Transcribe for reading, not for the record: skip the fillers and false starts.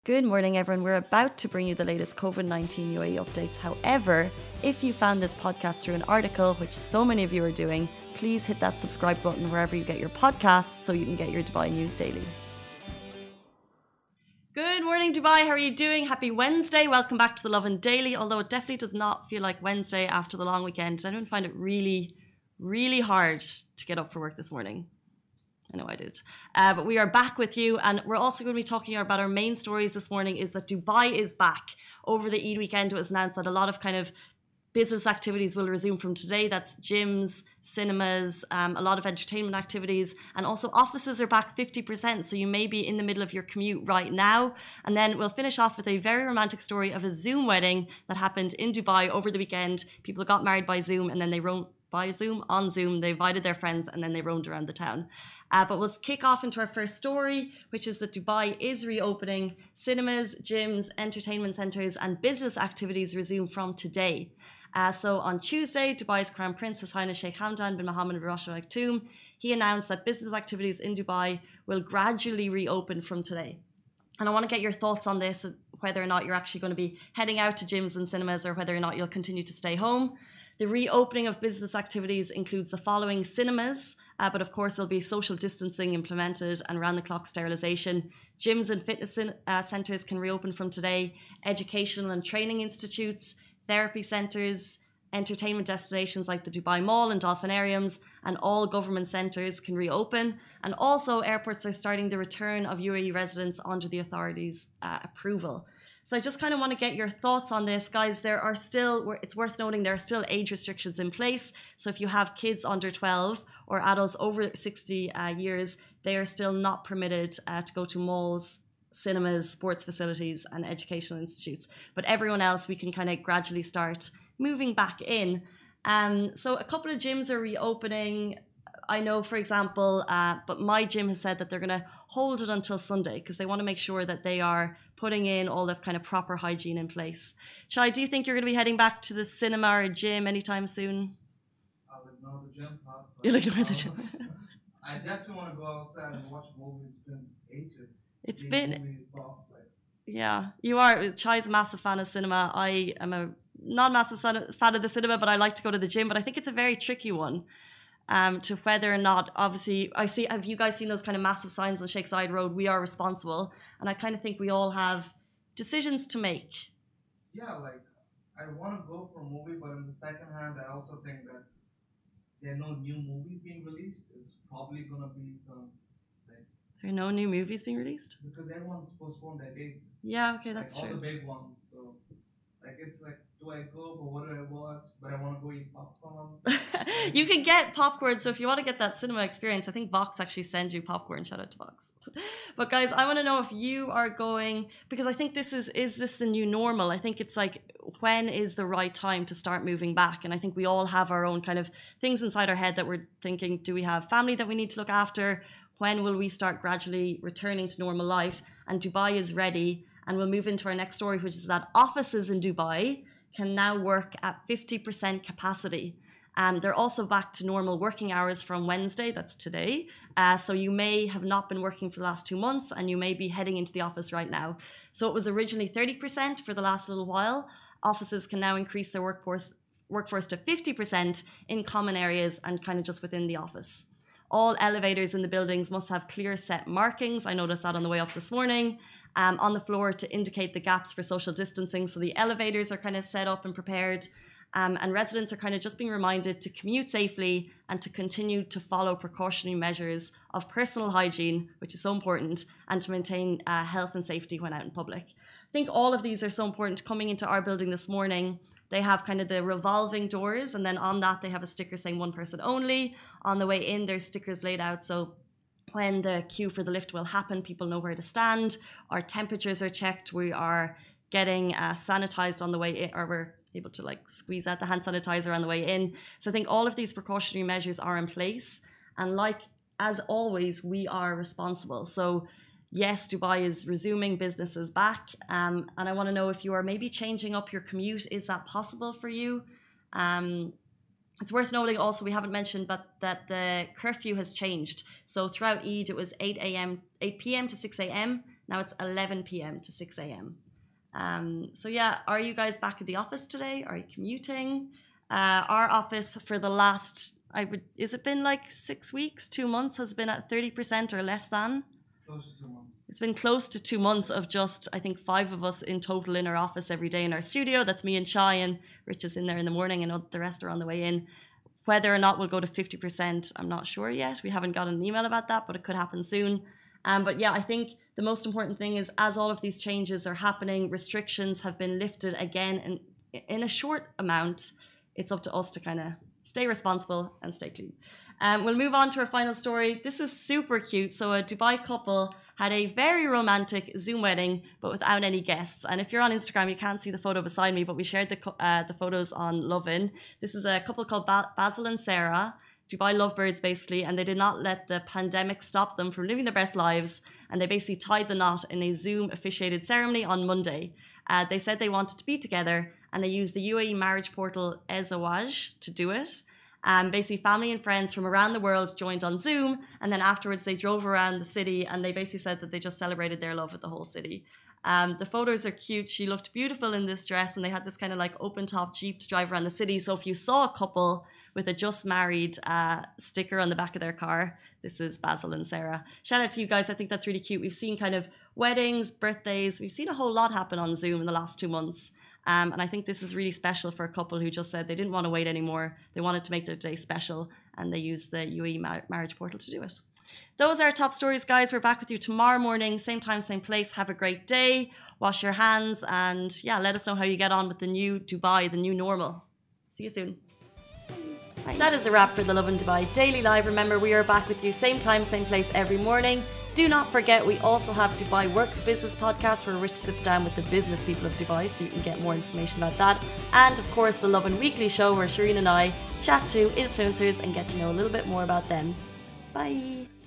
Good morning, everyone. We're about to bring you the latest COVID-19 UAE updates. However, if you found this podcast through an article, which so many of you are doing, please hit that subscribe button wherever you get your podcasts so you can get your Dubai news daily. Good morning, Dubai. How are you doing? Happy Wednesday. Welcome back to the Lovin Daily. Although it definitely does not feel like Wednesday after the long weekend. Did anyone find it really hard to get up for work this morning? I know I did. But we are back with you, and we're also going to be talking about our main stories this morning is that Dubai is back. Over the Eid weekend, it was announced that a lot of kind of business activities will resume from today. That's gyms, cinemas, a lot of entertainment activities, and also offices are back 50%. So you may be in the middle of your commute right now. And then we'll finish off with a very romantic story of a Zoom wedding that happened in Dubai over the weekend. People got married by Zoom, and then they on Zoom. They invited their friends, and then they roamed around the town. But we'll kick off into our first story, which is that Dubai is reopening. Cinemas, gyms, entertainment centres and business activities resume from today. So on Tuesday, Dubai's Crown Prince, His Highness Sheikh Hamdan bin Mohammed bin Rashid Al Maktoum, he announced that business activities in Dubai will gradually reopen from today. And I want to get your thoughts on this, whether or not you're actually going to be heading out to gyms and cinemas or whether or not you'll continue to stay home. The reopening of business activities includes the following: cinemas, but of course there'll be social distancing implemented and round-the-clock sterilisation. Gyms and fitness centres can reopen from today. Educational and training institutes, therapy centres, entertainment destinations like the Dubai Mall and Dolphinariums, and all government centres can reopen. And also airports are starting the return of UAE residents under the authorities' approval. So I just kind of want to get your thoughts on this, guys. It's worth noting there are still age restrictions in place. So if you have kids under 12 or adults over 60 years, they are still not permitted to go to malls, cinemas, sports facilities and educational institutes. But everyone else, we can kind of gradually start moving back in. So a couple of gyms are reopening. I know, for example, but my gym has said that they're going to hold it until Sunday because they want to make sure that they are putting in all the kind of proper hygiene in place. Shai, do you think you're going to be heading back to the cinema or gym anytime soon? I'll ignore the gym part. You'll ignore the gym. I definitely want to go outside and watch movies. It's been ages. It's been... Yeah, you are. Shai's a massive fan of cinema. I am a not massive fan of the cinema, but I like to go to the gym. But I think it's a very tricky one. To whether or not, obviously, have you guys seen those kind of massive signs on Sheikh Zayed Road? We are responsible. And I kind of think we all have decisions to make. Yeah, like, I want to go for a movie, but in the second hand, I also think that there are no new movies being released. It's probably going to be some, like... There are no new movies being released? Because everyone's postponed their dates. Yeah, okay, that's like, true. All the big ones, so... Like, it's like, do I go, but what do I watch? But I want to go eat popcorn. You can get popcorn, so if you want to get that cinema experience, I think Vox actually send you popcorn. Shout out to Vox. But guys, I want to know if you are going, because I think is this the new normal? I think it's like, when is the right time to start moving back? And I think we all have our own kind of things inside our head that we're thinking, do we have family that we need to look after? When will we start gradually returning to normal life? And Dubai is ready. And we'll move into our next story, which is that offices in Dubai can now work at 50% capacity. They're also back to normal working hours from Wednesday, that's today. So you may have not been working for the last 2 months and you may be heading into the office right now. So it was originally 30% for the last little while. Offices can now increase their workforce to 50% in common areas and kind of just within the office. All elevators in the buildings must have clear set markings. I noticed that on the way up this morning. On the floor to indicate the gaps for social distancing. So the elevators are kind of set up and prepared. And residents are kind of just being reminded to commute safely and to continue to follow precautionary measures of personal hygiene, which is so important, and to maintain health and safety when out in public. I think all of these are so important. Coming into our building this morning, they have kind of the revolving doors, and then on that they have a sticker saying one person only. On the way in, there's stickers laid out, so when the queue for the lift will happen, people know where to stand. Our temperatures are checked. We are getting sanitized on the way in, or we're able to like squeeze out the hand sanitizer on the way in. So I think all of these precautionary measures are in place. And like, as always, we are responsible. So yes, Dubai is resuming businesses back. And I want to know if you are maybe changing up your commute. Is that possible for you? It's worth noting also, we haven't mentioned, but that the curfew has changed. So throughout Eid, it was 8 p.m. to 6 a.m. Now it's 11 p.m. to 6 a.m. So yeah, are you guys back at the office today? Are you commuting? Our office for the last, is it been like 6 weeks, 2 months, has been at 30% or less than? Close to 2 months. It's been close to 2 months of just, I think, 5 of us in total in our office every day in our studio. That's me and Shai, and Rich is in there in the morning, and the rest are on the way in. Whether or not we'll go to 50%, I'm not sure yet. We haven't got an email about that, but it could happen soon. But yeah, I think the most important thing is, as all of these changes are happening, restrictions have been lifted again, and in a short amount, it's up to us to kind of stay responsible and stay clean. We'll move on to our final story. This is super cute. So a Dubai couple had a very romantic Zoom wedding, but without any guests. And if you're on Instagram, you can't see the photo beside me, but we shared the photos on Lovin. This is a couple called Basil and Sarah, Dubai lovebirds basically, and they did not let the pandemic stop them from living their best lives. And they basically tied the knot in a Zoom officiated ceremony on Monday. They said they wanted to be together, and they used the UAE marriage portal Ezawaj to do it. Basically, family and friends from around the world joined on Zoom, and then afterwards they drove around the city, and they basically said that they just celebrated their love with the whole city. The photos are cute. She looked beautiful in this dress, and they had this kind of like open top Jeep to drive around the city. So if you saw a couple with a just married sticker on the back of their car, this is Basil and Sarah. Shout out to you guys. I think that's really cute. We've seen kind of weddings, birthdays. We've seen a whole lot happen on Zoom in the last 2 months. And I think this is really special for a couple who just said they didn't want to wait anymore. They wanted to make their day special, and they used the UAE marriage portal to do it. Those are our top stories, guys. We're back with you tomorrow morning, same time, same place. Have a great day. Wash your hands, and yeah, let us know how you get on with the new Dubai, the new normal. See you soon. Bye. That is a wrap for the Lovin Dubai Daily Live. Remember, we are back with you same time, same place every morning. Do not forget, we also have Dubai Works Business Podcast, where Rich sits down with the business people of Dubai, so you can get more information about that. And of course, the Lovin Weekly Show, where Shireen and I chat to influencers and get to know a little bit more about them. Bye.